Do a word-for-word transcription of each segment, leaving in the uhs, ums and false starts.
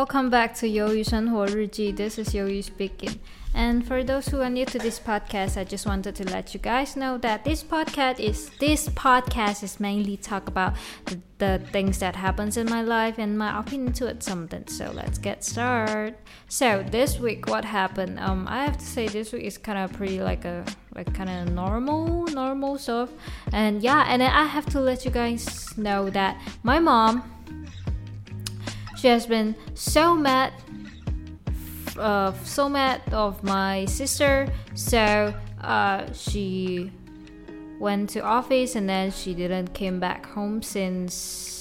welcome back to 鱿鱼生活日记. This is 鱿鱼 speaking. And for those who are new to this podcast, I just wanted to let you guys know that this podcast is this podcast is mainly talk about the, the things that happens in my life and my opinion to it something. So let's get started. So this week, what happened? Um, I have to say this week is kind of pretty like a like kind of normal, normal stuff. And yeah, and then I have to let you guys know that my mom, she has been so mad. Uh, so mad of my sister, so uh, she went to office and then she didn't came back home since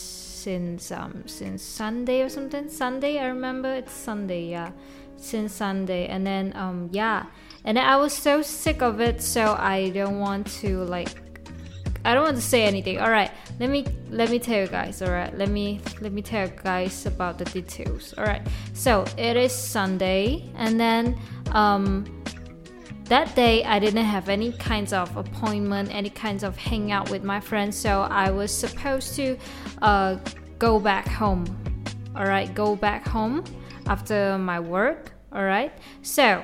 since um since Sunday or something. Sunday, I remember it's Sunday, yeah, since Sunday. And then um yeah, and then I was so sick of it, so I don't want to like. I don't want to say anything. All right, let me let me tell you guys. All right, let me let me tell you guys about the details. All right, so it is Sunday, and then um, that day I didn't have any kinds of appointment, any kinds of hangout with my friends. So I was supposed to uh, go back home. All right, go back home after my work. All right, so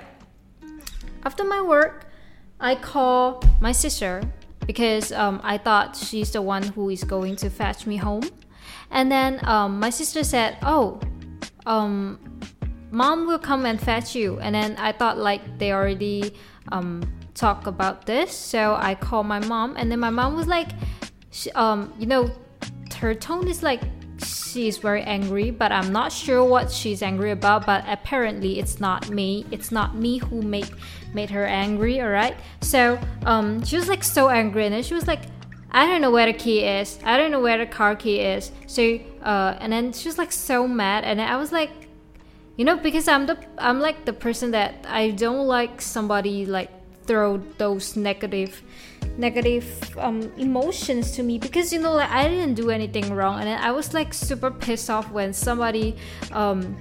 after my work, I call my sister. Because um, I thought she's the one who is going to fetch me home. And then um, my sister said, oh, um, mom will come and fetch you. And then I thought like they already um, talked about this. So I called my mom. And then my mom was like, she, um, you know, her tone is like, she's very angry. But I'm not sure what she's angry about. But apparently it's not me. It's not me who made... made her angry. All right, so um she was like so angry, and then she was like, I don't know where the key is, I don't know where the car key is. So uh and then she was like so mad, and then I was like, you know, because I'm the I'm like the person that I don't like somebody like throw those negative negative um emotions to me, because you know, like I didn't do anything wrong. And then I was like super pissed off when somebody um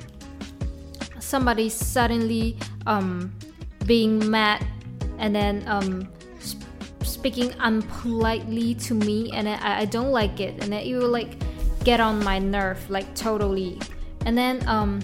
somebody suddenly um being mad and then um sp- speaking unpolitely to me, and then I, I don't like it, and then it will like get on my nerve like totally. And then um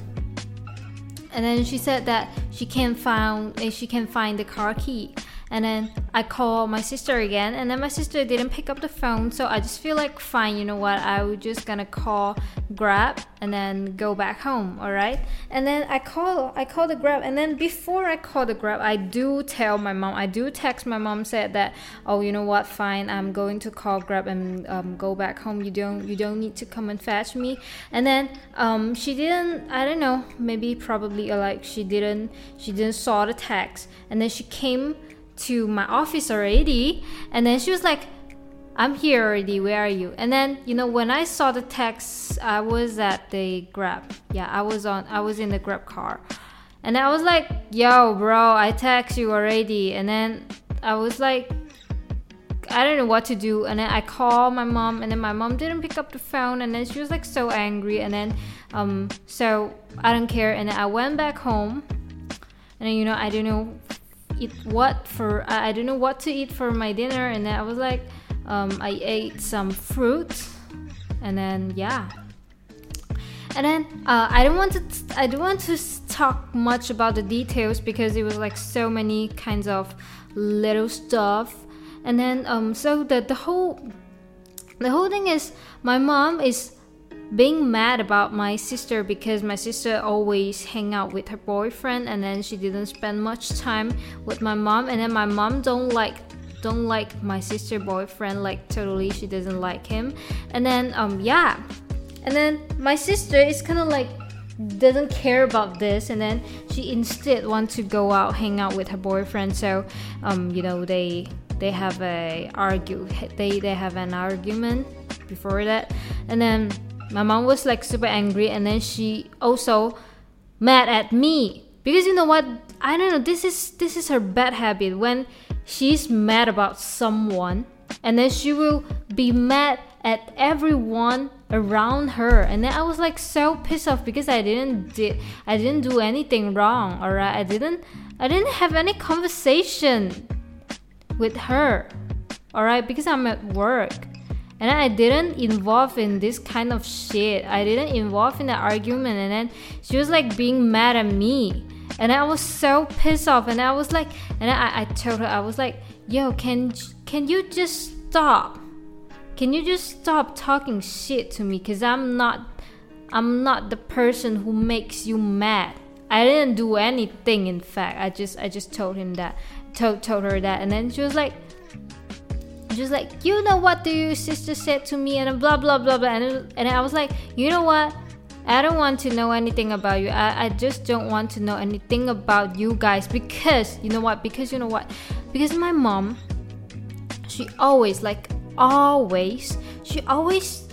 and then she said that she can't find she can find the car key. And then I call my sister again, and then my sister didn't pick up the phone. So I just feel like, fine, you know what, I was just gonna call Grab and then go back home. All right, and then I call I call the Grab, and then before I call the Grab, I do tell my mom, I do text my mom, said that, oh, you know what, fine, I'm going to call Grab and um, go back home. You don't you don't need to come and fetch me. And then um she didn't, I don't know, maybe probably uh, like she didn't she didn't saw the text, and then she came to my office already, and then she was like, I'm here already, where are you? And then, you know, when I saw the text, I was at the Grab. Yeah, I was on I was in the Grab car. And I was like, yo bro, I text you already. And then I was like, I don't know what to do. And then I called my mom, and then my mom didn't pick up the phone, and then she was like so angry. And then um so I don't care, and then I went back home, and then, you know, I don't know eat what for I, I don't know what to eat for my dinner. And then I was like, um I ate some fruit, and then yeah, and then uh, I don't want to I don't want to talk much about the details, because it was like so many kinds of little stuff. And then um so the the whole the whole thing is, my mom is being mad about my sister, because my sister always hang out with her boyfriend, and then she didn't spend much time with my mom. And then my mom don't like don't like my sister boyfriend, like totally she doesn't like him. And then um yeah, and then my sister is kind of like doesn't care about this, and then she instead want to go out hang out with her boyfriend. So um you know, they they have a argue they they have an argument before that. And then my mom was like super angry, and then she also mad at me, because you know what, I don't know, this is this is her bad habit. When she's mad about someone, and then she will be mad at everyone around her. And then I was like so pissed off, because I didn't did I didn't do anything wrong. All right, I didn't I didn't have any conversation with her. All right, because I'm at work. and I didn't involve in this kind of shit. I didn't involve in the argument, and then she was like being mad at me, and I was so pissed off, and I was like, and I, I told her, I was like, yo, can can you just stop? Can you just stop talking shit to me? Cause I'm not, I'm not the person who makes you mad. I didn't do anything. In fact, I just, I just told him that, told told her that, and then she was like. Just like, you know what your sister said to me, and blah blah blah blah, and, and I was like, you know what, I don't want to know anything about you. I, I just don't want to know anything about you guys, because you know what because you know what because my mom, she always like always she always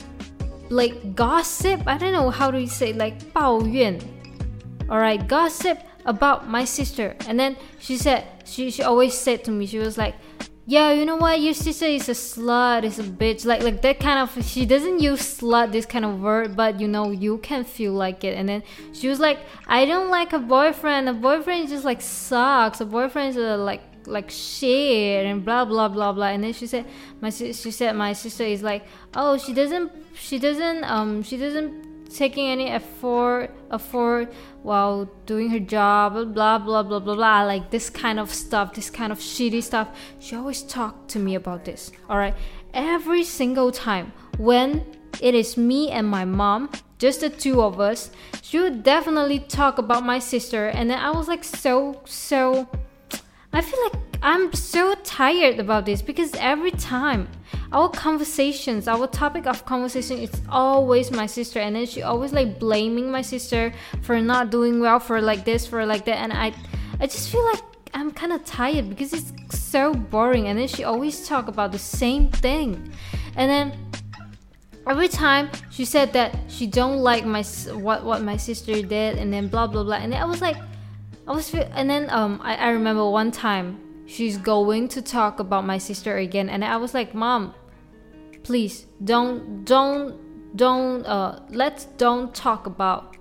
like gossip. I don't know how to say, like 抱怨, alright, gossip about my sister. And then she said, she, she always said to me, she was like, yeah, you know what, your sister is a slut, is a bitch, like like that kind of. She doesn't use slut, this kind of word, but you know, you can feel like it. And then she was like, I don't like a boyfriend, a boyfriend just like sucks, a boyfriend is uh, like like shit, and blah blah blah blah. And then she said, my she said my sister is like, oh, she doesn't she doesn't um she doesn't taking any effort effort while doing her job, blah blah blah blah blah, like this kind of stuff, this kind of shitty stuff. She always talked to me about this, all right, every single time when it is me and my mom, just the two of us, she would definitely talk about my sister. And then I was like, so so I feel like I'm so tired about this, because every time our conversations, our topic of conversation is always my sister, and then she always like blaming my sister for not doing well, for like this, for like that. And I I just feel like I'm kind of tired, because it's so boring, and then she always talk about the same thing. And then every time she said that she don't like my what what my sister did, and then blah blah blah. And then I was like, I was and then um I, I remember one time she's going to talk about my sister again, and I was like, Mom, please don't don't don't uh let's don't talk about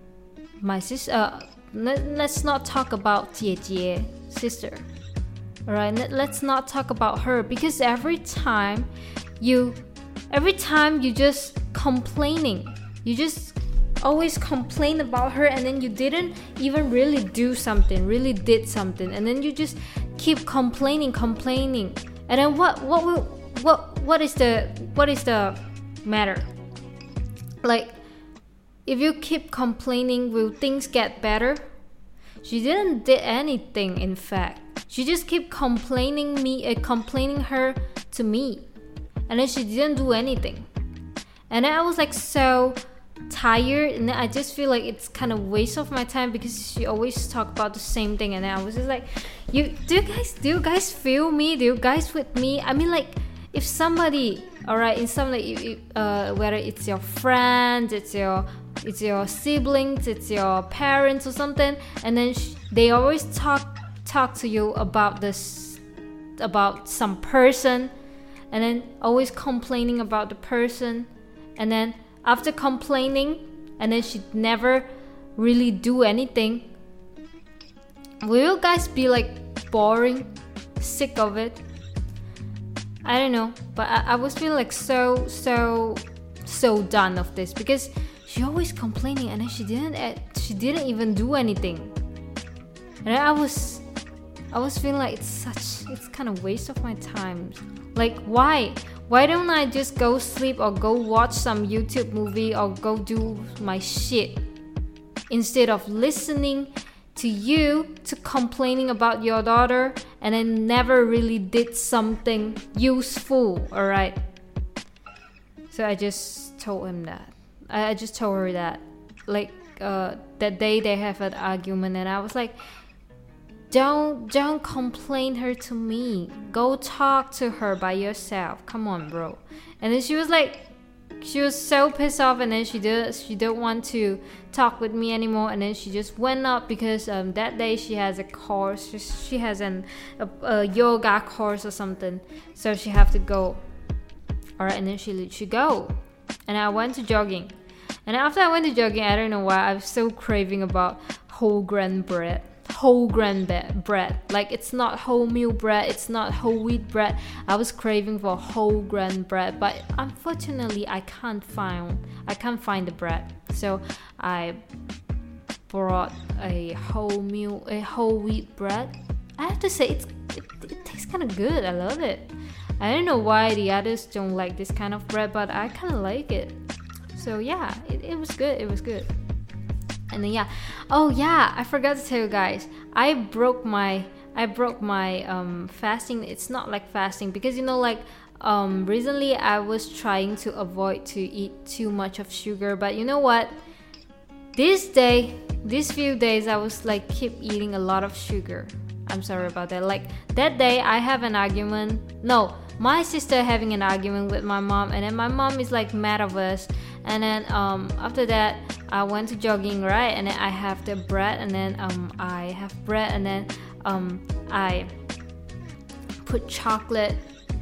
my sister. Uh, let, let's not talk about 姐姐 sister. Alright, let, let's not talk about her, because every time you every time you just complaining, you just always complain about her, and then you didn't even really do something, really did something, and then you just keep complaining, complaining. And then what what will what what is the what is the matter? Like, if you keep complaining, will things get better? She didn't did anything. In fact, she just keep complaining me, uh, complaining her to me, and then she didn't do anything. And then I was like so tired, and then I just feel like it's kind of waste of my time, because she always talk about the same thing. And then I was just like, you do you guys do you guys feel me? Do you guys with me? I mean, like, if somebody, all right, in some like uh whether it's your friends, it's your it's your siblings, it's your parents or something, and then sh- they always talk talk to you about this, about some person, and then always complaining about the person, and then after complaining, and then she never really do anything, will you guys be like boring, sick of it? I don't know, but I, I was feeling like so so so done of this, because she always complaining, and then she didn't she didn't even do anything. And I was I was feeling like it's such it's kind of waste of my time. Like, why why don't I just go sleep, or go watch some YouTube movie, or go do my shit, instead of listening to you to complaining about your daughter, and then never really did something useful. All right, so I just told him that I, I just told her that, like, uh, that day they have an argument, and I was like, don't don't complain her to me, go talk to her by yourself, come on, bro. And then she was like, she was so pissed off, and then she did she didn't want to talk with me anymore. And then she just went up, because um, that day she has a course, she, she has an a, a yoga course or something, so she have to go. All right, and then she she go, and I went to jogging. And after I went to jogging, I don't know why, I was so craving about whole grain bread. whole grain bread. Like, it's not wholemeal bread, it's not whole wheat bread. I was craving for whole grain bread, but unfortunately I can't find I can't find the bread. So I brought a wholemeal a whole wheat bread. I have to say it's it, it tastes kind of good. I love it. I don't know why the others don't like this kind of bread, but I kind of like it. So yeah, it, it was good. It was good. And then yeah, oh yeah, I forgot to tell you guys. I broke my I broke my um fasting. It's not like fasting because you know like um recently I was trying to avoid to eat too much of sugar, but you know what? This day, these few days, I was like keep eating a lot of sugar. I'm sorry about that. Like that day, I have an argument. No, my sister having an argument with my mom, and then my mom is like mad of us. And then um after that, I went to jogging, right? And then I have the bread, and then um I have bread, and then um I put chocolate,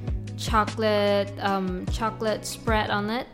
chocolate, um chocolate spread on it,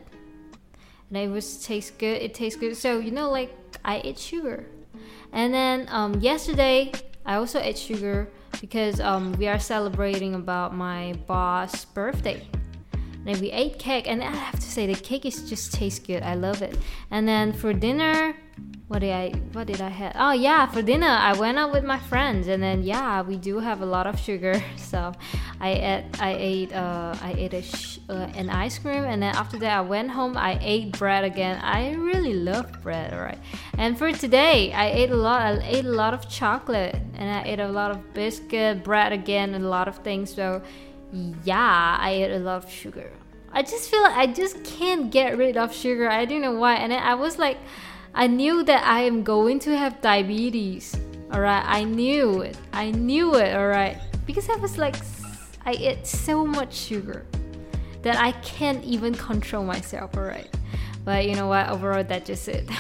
and it was tastes good. It tastes good. So you know, like I ate sugar, and then um yesterday I also ate sugar because um we are celebrating about my boss' birthday. And we ate cake, and I have to say the cake is just tastes good. I love it. And then for dinner, what did I what did I have? Oh yeah, for dinner I went out with my friends, and then yeah, we do have a lot of sugar. So I ate I ate uh I ate a sh- uh, an ice cream, and then after that I went home. I ate bread again. I really love bread, alright. And for today, I ate a lot. I ate a lot of chocolate, and I ate a lot of biscuit, bread again, and a lot of things. So yeah, I ate a lot of sugar. I just feel like I just can't get rid of sugar. I don't know why. And then I was like, I knew that I am going to have diabetes. Alright, I knew it. I knew it, alright. Because I was like, I ate so much sugar that I can't even control myself, alright. But you know what? Overall, that's just it.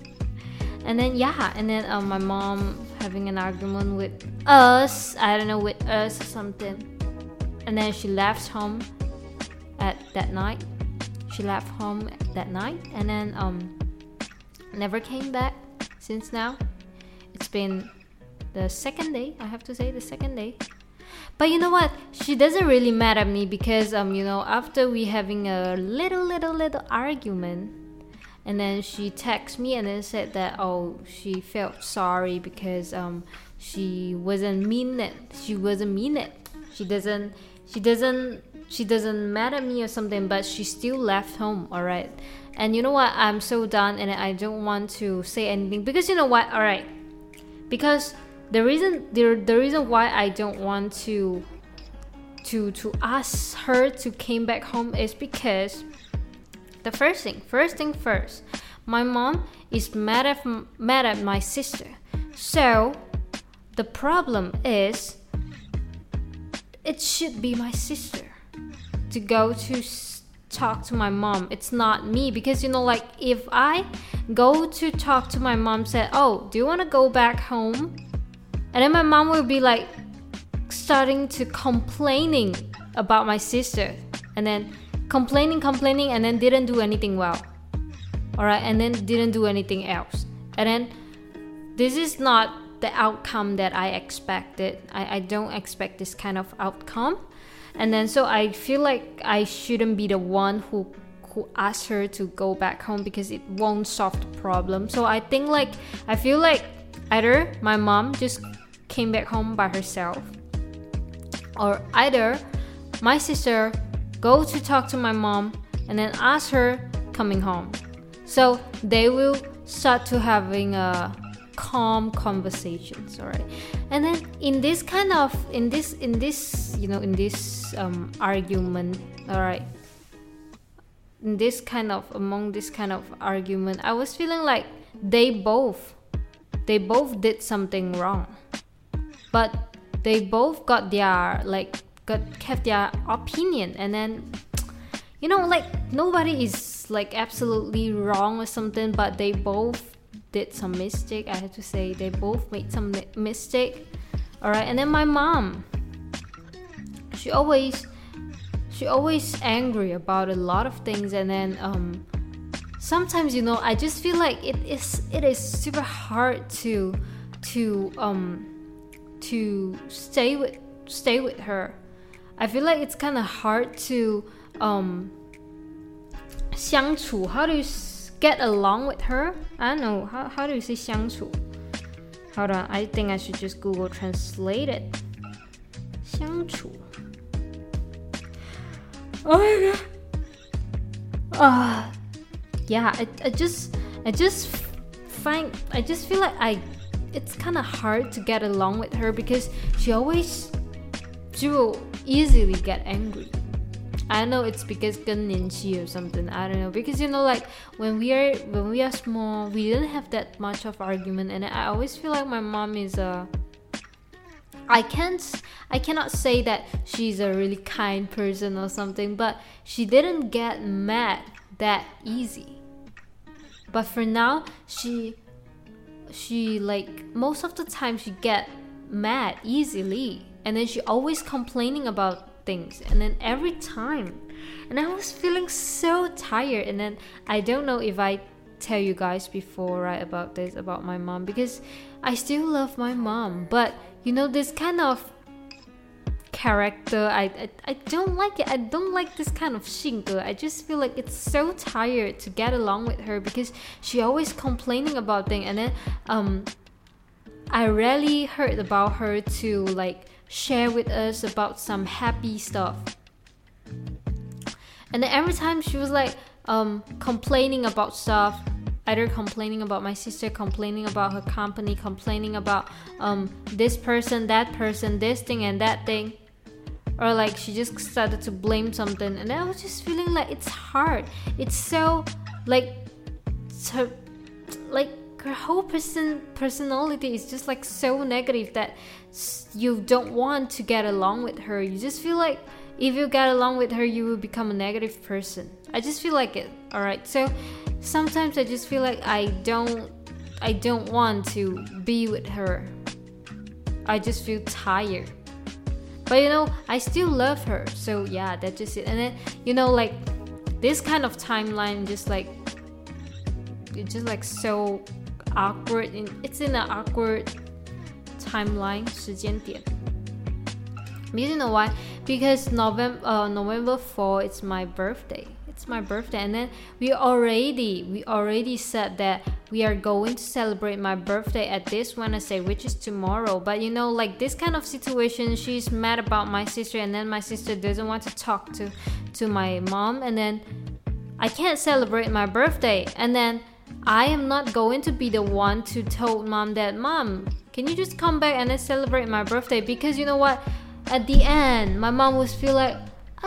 And then yeah, and then um, my mom having an argument with us. I don't know, with us or something. And then she left home at that night. She left home that night, and then um never came back since now. It's been the second day, I have to say, the second day. But you know what? She doesn't really mad at me because um you know after we having a little little little argument, and then she texted me and then said that oh she felt sorry because um she wasn't mean it. She wasn't mean it. She doesn't. She doesn't she doesn't mad at me or something, but she still left home, alright. And you know what? I'm so done, and I don't want to say anything because you know what? Alright. Because the reason the, the reason why I don't want to to to ask her to came back home is because the first thing, first thing first, my mom is mad at mad at my sister. So the problem is it should be my sister to go to s- talk to my mom. It's not me, because you know like if I go to talk to my mom, said oh do you want to go back home, and then my mom will be like starting to complaining about my sister, and then complaining complaining and then didn't do anything well, alright, and then didn't do anything else, and then this is not the outcome that I expected. I, I don't expect this kind of outcome. And then so I feel like I shouldn't be the one who who asked her to go back home because it won't solve the problem. So I think like I feel like either my mom just came back home by herself, or either my sister go to talk to my mom and then ask her coming home. So they will start to having a calm conversations, all right. And then in this kind of in this in this you know in this um argument, all right, in this kind of among this kind of argument, I was feeling like they both they both did something wrong, but they both got their like got kept their opinion. And then you know like nobody is like absolutely wrong or something, but they both did some mistake. I have to say they both made some mi- mistake, all right. And then my mom, she always she always angry about a lot of things, and then um sometimes you know I just feel like it is it is super hard to to um to stay with stay with her. I feel like it's kind of hard to um 相处. How do you get along with her? I don't know. How how do you say 相处? Hold on. I think I should just Google Translate it. 相处. Oh my god. Ah. Uh, yeah, I I just I just find I just feel like I it's kind of hard to get along with her because she always she will easily get angry. I don't know, it's because 更年期 or something. I don't know, because you know, like when we are when we are small, we didn't have that much of argument, and I always feel like my mom is a. I can't I cannot say that she's a really kind person or something, but she didn't get mad that easy. But for now, she she like most of the time she get mad easily, and then she always complaining about things, and then every time, and I was feeling so tired. And then I don't know if I tell you guys before, right, about this about my mom, because I still love my mom, but you know, this kind of character, I, I I don't like it. I don't like this kind of 性格. I just feel like it's so tired to get along with her because she always complaining about things, and then um I rarely heard about her to like share with us about some happy stuff. And then every time she was like um complaining about stuff, either complaining about my sister, complaining about her company, complaining about um this person, that person, this thing and that thing, or like she just started to blame something, and I was just feeling like it's hard. It's so like so, like her whole person personality is just like so negative that you don't want to get along with her. You just feel like if you get along with her, you will become a negative person. I just feel like it. All right, so sometimes I just feel like I don't I don't want to be with her. I just feel tired. But you know, I still love her. So yeah, that's just it. And then, you know, like this kind of timeline just like it's just like so awkward. It's in an awkward timeline, 时间点. You know why? Because November uh, November fourth, it's my birthday. It's my birthday, and then we already we already said that we are going to celebrate my birthday at this Wednesday, which is tomorrow. But you know, like this kind of situation, she's mad about my sister, and then my sister doesn't want to talk to to my mom, and then I can't celebrate my birthday, and then I am not going to be the one to tell mom that, Mom, can you just come back and then celebrate my birthday? Because you know what? At the end, my mom would feel like,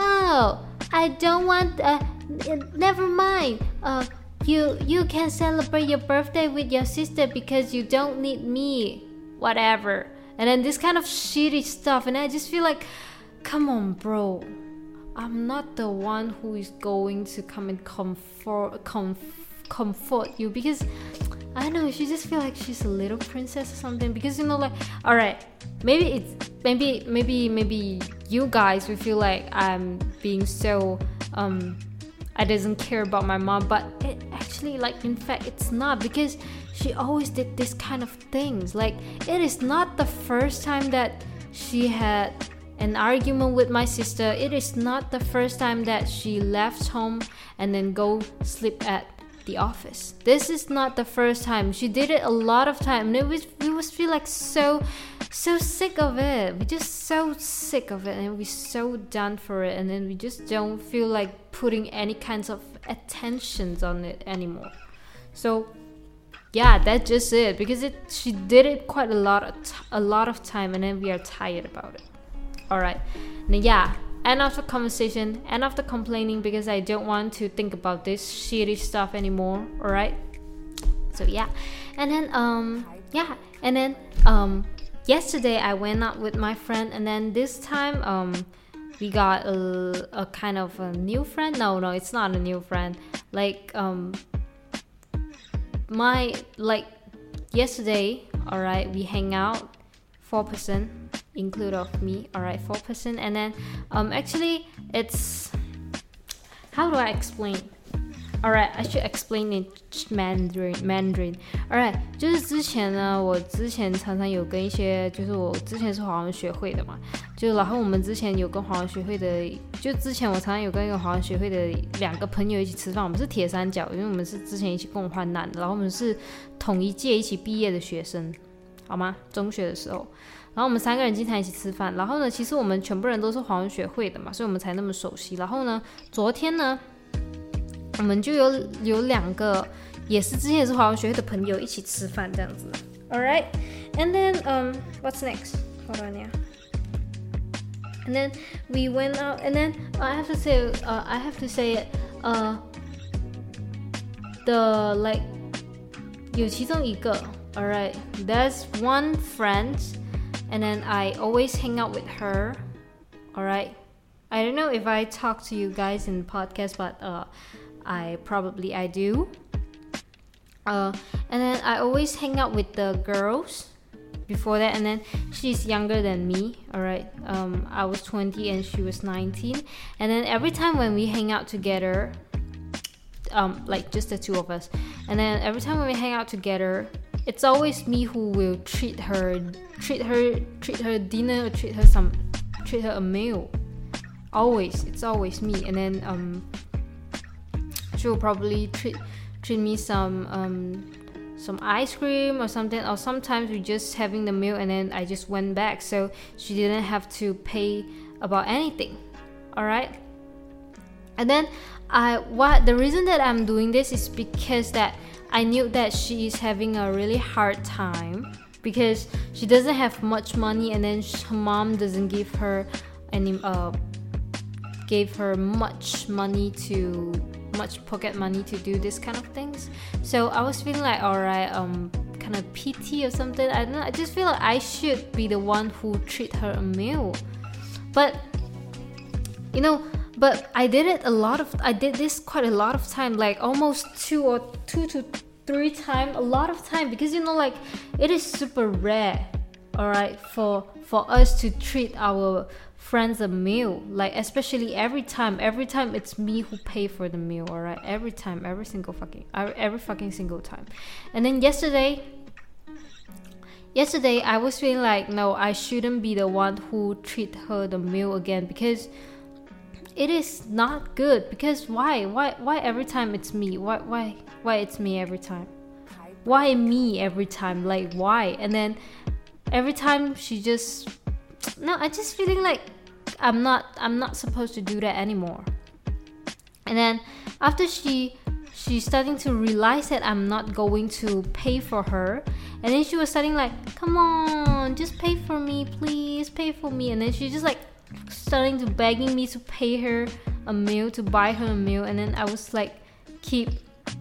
oh, I don't want, uh, never mind. Uh, you you can celebrate your birthday with your sister because you don't need me, whatever. And then this kind of shitty stuff. And I just feel like, come on, bro. I'm not the one who is going to come and comfort, comfort. comfort you, because I don't know, she just feel like she's a little princess or something. Because you know, like, all right, maybe it's maybe maybe maybe you guys will feel like I'm being so um I doesn't care about my mom, but it actually, like, in fact it's not, because she always did this kind of things. Like, it is not the first time that she had an argument with my sister. It is not the first time that she left home and then go sleep at the office. This is not the first time. She did it a lot of time, and it was, we was feel like so so sick of it. We just so sick of it, and we so done for it, and then we just don't feel like putting any kinds of attentions on it anymore. So yeah, that's just it, because it she did it quite a lot of t- a lot of time, and then we are tired about it. All right, now yeah, end of the conversation, end of the complaining, because I don't want to think about this shitty stuff anymore. All right, so yeah, and then um yeah, and then um yesterday I went out with my friend, and then this time um we got a, a kind of a new friend. No, no, it's not a new friend. Like um my like yesterday, all right, we hang out four person. Include of me, all right, four person, and then um actually it's, how do I explain? Alright, I should explain in Mandarin. Mandarin. Alright, 就是之前呢，我之前常常有跟一些，就是我之前是华文学会的嘛，就然后我们之前有跟华文学会的，就之前我常常有跟一个华文学会的两个朋友一起吃饭，我们是铁三角，因为我们是之前一起共患难的，然后我们是同一届一起毕业的学生，好吗？中学的时候。然后我们三个人经常一起吃饭，然后呢，其实我们全部人都是华文学会的嘛，所以我们才那么熟悉。然后呢，昨天呢。我们就有有两个也是之前也是华文学会的朋友一起吃饭这样子 Alright, and then um, what's next? Hold on, yeah. And then we went out, and then I have to say, uh, I have to say it, uh, the like 有其中一个 Alright, there's one friend, and then I always hang out with her. Alright, I don't know if I talk to you guys in podcast, but uh. I probably I do uh, and then I always hang out with the girls before that, and then she's younger than me. Alright, um, I was twenty and she was nineteen, and then every time when we hang out together, um, like just the two of us, and then every time when we hang out together, it's always me who will treat her treat her treat her dinner or treat her some treat her a meal. Always, it's always me. And then um she will probably treat treat me some um some ice cream or something, or sometimes we just having the meal and then I just went back, so she didn't have to pay about anything. Alright, and then I what the reason that I'm doing this is because that I knew that she is having a really hard time because she doesn't have much money, and then her mom doesn't give her any uh gave her much money to much pocket money to do this kind of things. So I was feeling like, alright, um, kind of pity or something. I don't know. I just feel like I should be the one who treat her a meal. But you know, but I did it a lot of. I did this quite a lot of time, like almost two or two to three times, a lot of time, because you know, like it is super rare, alright, for for us to treat our friends a meal, like especially every time every time it's me who pay for the meal. All right, every time, every single fucking every fucking single time. And then yesterday yesterday I was feeling like, no, I shouldn't be the one who treat her the meal again, because it is not good. Because why why why every time it's me? Why why why it's me every time? Why me every time? Like why? And then every time she just no I just feeling like I'm not I'm not supposed to do that anymore. And then after she she's starting to realize that I'm not going to pay for her, and then she was starting like, come on, just pay for me, please pay for me. And then she just like starting to begging me to pay her a meal, to buy her a meal. And then I was like keep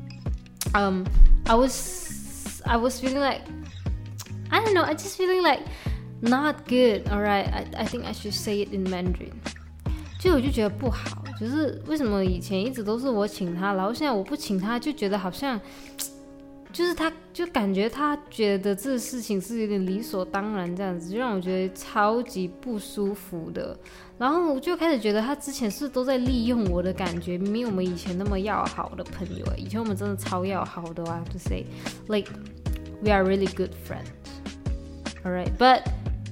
um I was I was feeling like, I don't know, I just feeling like not good. Alright, I, I think I should say it in Mandarin. 就我就觉得不好，就是为什么以前一直都是我请他，然后现在我不请他，就觉得好像就是他就感觉他觉得这个事情是有点理所当然这样子，就让我觉得超级不舒服的。然后我就开始觉得他之前是都在利用我的感觉，明明我们以前那么要好的朋友，以前我们真的超要好的。I have to say, like we are really good friends. Alright, but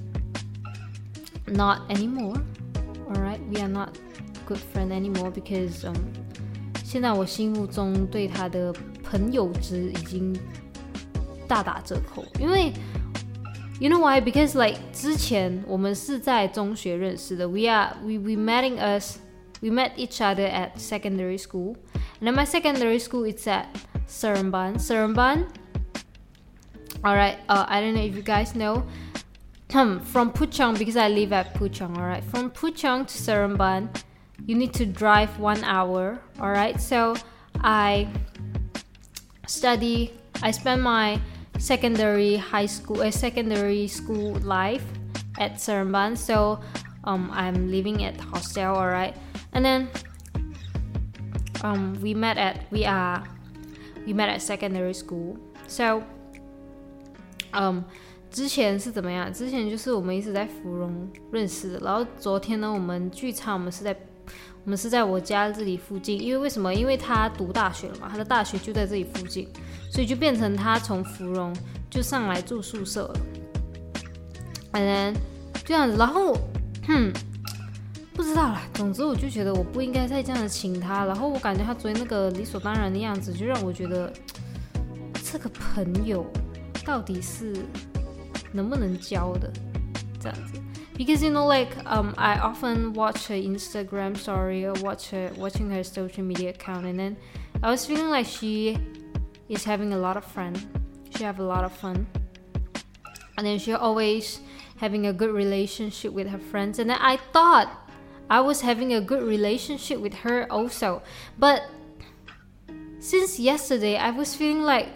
not anymore. Alright, we are not good friends anymore because um, 现在我心目中对他的朋友值已经大打折扣。因为 you know why? Because like 之前我们是在中学认识的。We are we we meeting us we met each other at secondary school, and then my secondary school is at Seremban. Seremban. Alright, uh, I don't know if you guys know. From Puchong, because I live at Puchong, alright. From Puchong to Seremban, you need to drive one hour, alright. So I study, I spend my secondary high school, uh, secondary school life at Seremban. So um, I'm living at hostel, alright. And then um, we met at we are we met at secondary school. So um. 之前是怎么样？之前就是我们一直在芙蓉认识的，然后昨天呢，我们聚餐，我们是在我我们是在我家这里附近，因为为什么？因为他读大学了嘛，他的大学就在这里附近，所以就变成他从芙蓉就上来住宿舍了。And then 这样子，然后，哼，不知道啦。总之，我就觉得我不应该再这样的请他。然后我感觉他昨天那个理所当然的样子，就让我觉得这个朋友到底是能不能交的这样子。Because you know, like um, I often watch her Instagram story or watch her watching her social media account, and then I was feeling like she is having a lot of fun. She have a lot of fun, and then she always having a good relationship with her friends. And then I thought I was having a good relationship with her also, but since yesterday, I was feeling like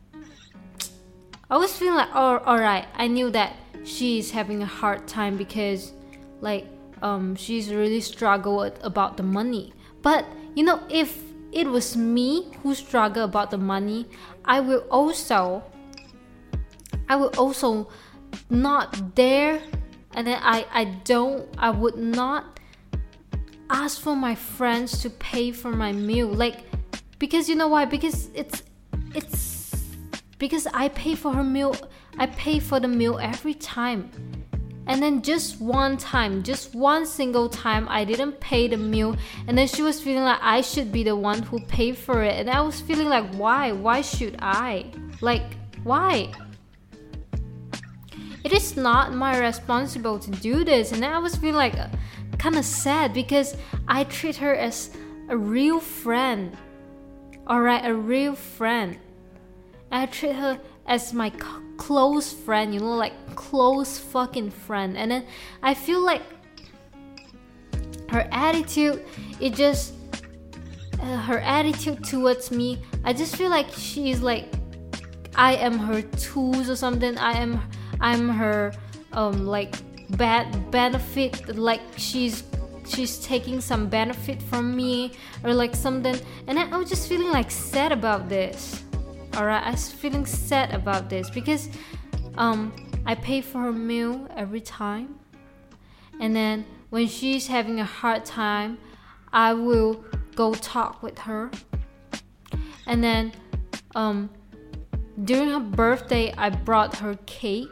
I was feeling like, oh, all right, I knew that she is having a hard time because like um she's really struggled about the money. But you know, if it was me who struggled about the money, I will also I will also not dare, and then I I don't I would not ask for my friends to pay for my meal, like because you know why? Because it's it's because I pay for her meal. I pay for the meal every time. And then just one time, just one single time, I didn't pay the meal. And then she was feeling like I should be the one who paid for it. And I was feeling like, why? Why should I? Like, why? It is not my responsibility to do this. And then I was feeling like uh, kind of sad because I treat her as a real friend. Alright, a real friend. I treat her as my close friend, you know, like close fucking friend. And then I feel like her attitude, it just uh, her attitude towards me, I just feel like she's like I am her tools or something. I am I'm her um like bad benefit, like she's she's taking some benefit from me or like something. And I was just feeling like sad about this. Alright, I was feeling sad about this because um, I pay for her meal every time. And then when she's having a hard time, I will go talk with her. And then um, during her birthday, I brought her cake.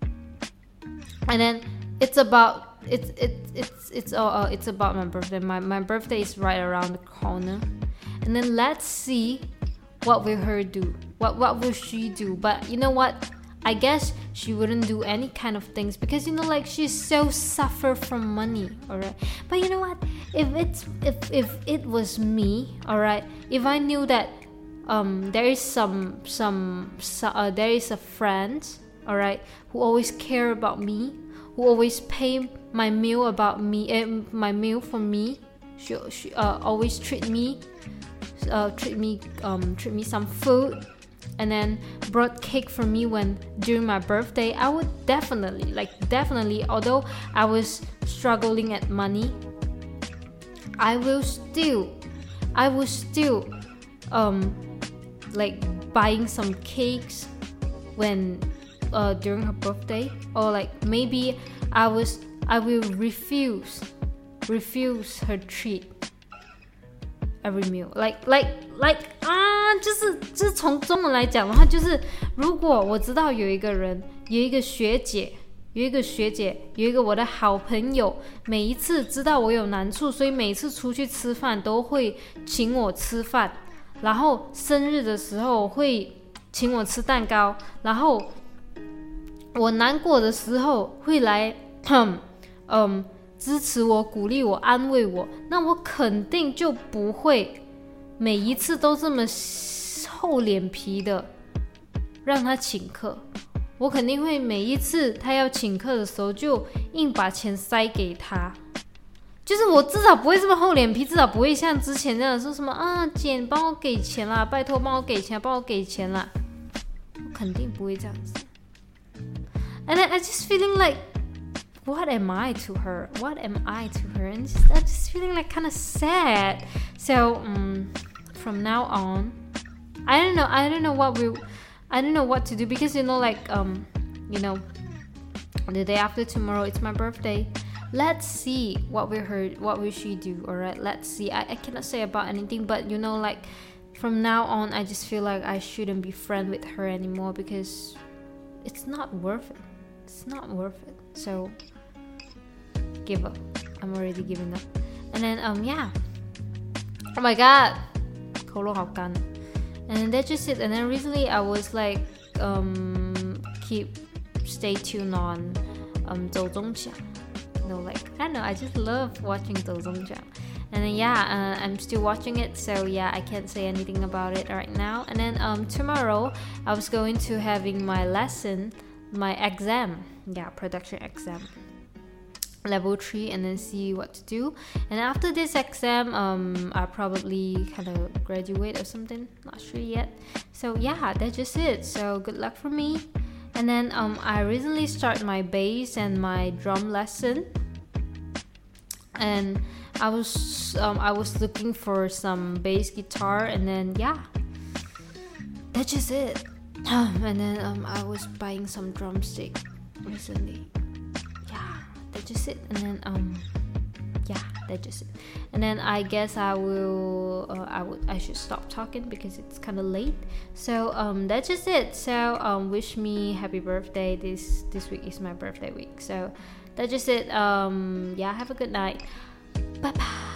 And then it's about it's it's it's it's oh, oh it's about my birthday. My my birthday is right around the corner. And then let's see what will her do. What what will she do? But you know what? I guess she wouldn't do any kind of things because you know, like she's so suffer from money, alright. But you know what? If it's if if it was me, alright. If I knew that um there is some some uh, there is a friend, alright, who always care about me, who always pay my meal about me, uh, my meal for me, she she uh, always treat me, uh, treat me um treat me some food. And then brought cake for me when during my birthday, I would definitely, like definitely, although I was struggling at money, I will still, I will still, um, like buying some cakes when, uh, during her birthday, or like maybe I was, I will refuse, refuse her treat.Every meal, like, like, like 啊，就是就是从中文来讲的话，就是如果我知道有一个人，有一个学姐，有一个学姐，有一个我的好朋友，每一次知道我有难处，所以每一次出去吃饭都会请我吃饭，然后生日的时候会请我吃蛋糕，然后我难过的时候会来，嗯。支持我、鼓励我、安慰我，那我肯定就不会每一次都这么厚脸皮的让他请客。我肯定会每一次他要请客的时候，就硬把钱塞给他。就是我至少不会这么厚脸皮，至少不会像之前那样说什么啊，姐，你帮我给钱啦，拜托帮我给钱，帮我给钱啦。我肯定不会这样子。And I just feeling like.What am I to her? What am I to her? And just, I'm just feeling like kind of sad. So um, from now on, I don't know. I don't know what we, I don't know what to do because you know, like um, you know, the day after tomorrow, it's my birthday. let's see what we heard, what we should do. All right, let's see. I, I cannot say about anything, but you know, like from now on, I just feel like I shouldn't be friends with her anymore because it's not worth it. It's not worth it. So give up. I'm already giving up. And then um yeah. Oh my god. 喉咙好干. And then that's just it. And then recently I was like um keep stay tuned on um 周宗强. You know, like I don't know, I just love watching 周宗强. And then yeah, uh, I'm still watching it, so yeah, I can't say anything about it right now. And then um tomorrow I was going to having my lesson, my exam, yeah, production exam, level three, and then see what to do. And after this exam, um I probably kind of graduate or something, not sure yet. So yeah, that's just it. So good luck for me. And then um I recently started my bass and my drum lesson, and I was um, I was looking for some bass guitar, and then yeah, that's just it. And then um, I was buying some drumstick recently. Yeah, that's just it. And then um, yeah, that's just it. And then I guess I will uh, I would I should stop talking because it's kind of late. So um, that's just it. So um, wish me happy birthday. This this week is my birthday week. So that's just it. Um, yeah, have a good night. Bye bye.